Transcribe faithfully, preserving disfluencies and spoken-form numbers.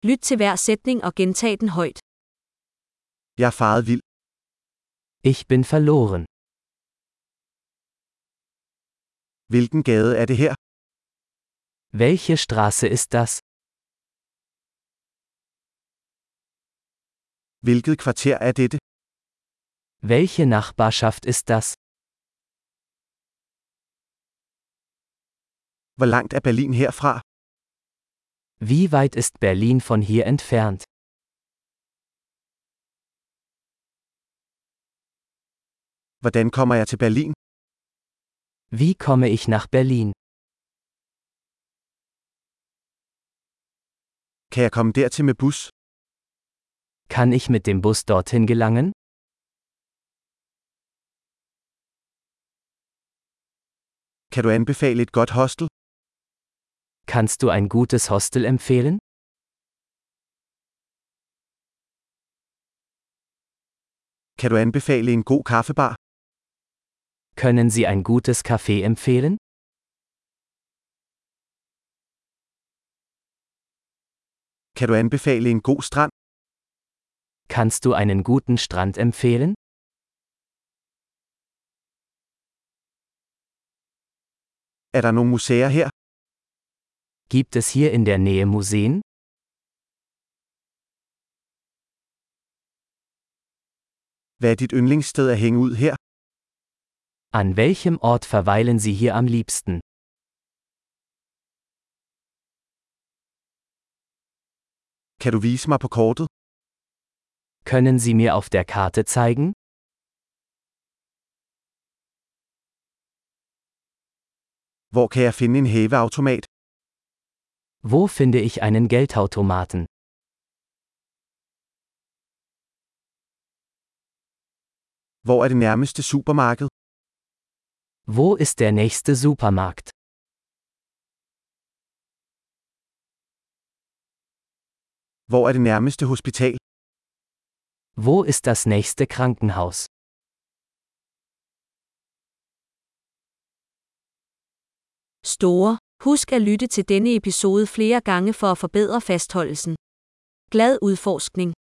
Lyt til hver sætning og gentag den højt. Jeg er faret vild. Ich bin verloren. Hvilken gade er det her? Welche Straße ist das? Hvilket kvarter er dette? Welche Nachbarschaft ist das? Hvor langt er Berlin herfra? Wie weit ist Berlin von hier entfernt? Hvordan kommer jeg til Berlin? Wie komme ich nach Berlin? Kan jeg komme dertil med bus? Kann ich mit dem Bus dorthin gelangen? Kan du anbefale et godt hostel? Kannst du ein gutes Hostel empfehlen? Kan du anbefale en god kaffebar? Können Sie ein gutes Café empfehlen? Kan du anbefale en god strand? Kannst du einen guten Strand empfehlen? Er der nogle museer her? Gibt es hier in der Nähe Museen? Hvad er dit yndlingssted at hænge ud her? An welchem Ort verweilen Sie hier am liebsten? Kan du vise mig på kortet? Können Sie mir auf der Karte zeigen? Hvor kan jeg finde en hæveautomat? Wo finde ich einen Geldautomaten? Hvor er det nærmeste supermarked? Wo ist der nächste Supermarkt? Hvor er det nærmeste hospital? Wo ist das nächste Krankenhaus? Store. Husk at lytte til denne episode flere gange for at forbedre fastholdelsen. Glad udforskning!